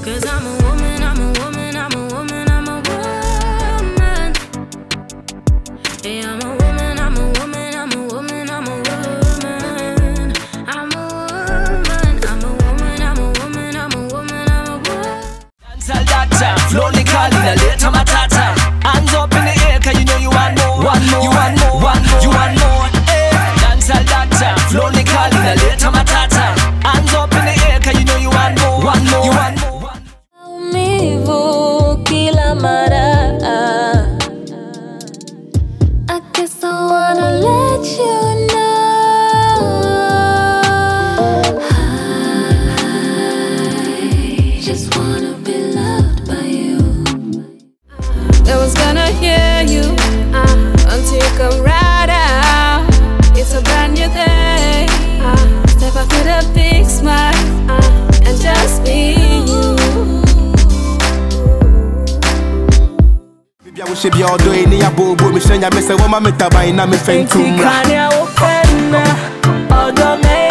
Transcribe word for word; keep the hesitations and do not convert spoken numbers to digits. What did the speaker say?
Cause I'm a woman, I'm a woman, I'm a woman, I'm a woman. Yeah, I'm a woman, I'm a woman, I'm a woman, I'm a woman. I'm a woman, I'm a woman, I'm a woman, I'm a woman, I'm a woman. Dancehall doctor, lonely calling a later matata. Hands up in the air, cause you know you want more. One more, you want more, one more, you want more. Dancehall doctor, lonely calling a later matata. Hands up in the air, cause you know you want more. One more, you want more. Maumivu kila mara. I guess I wanna let you know I just wanna be loved by you. I was gonna hear you uh, until you come right out. It's a brand new day. uh, Step up with a big smile uh, and just be you. I wish you be all doing it. I bow, bow, me shine. I miss a woman, me tabai, na me feng kumra. Kanya upenda, odo me.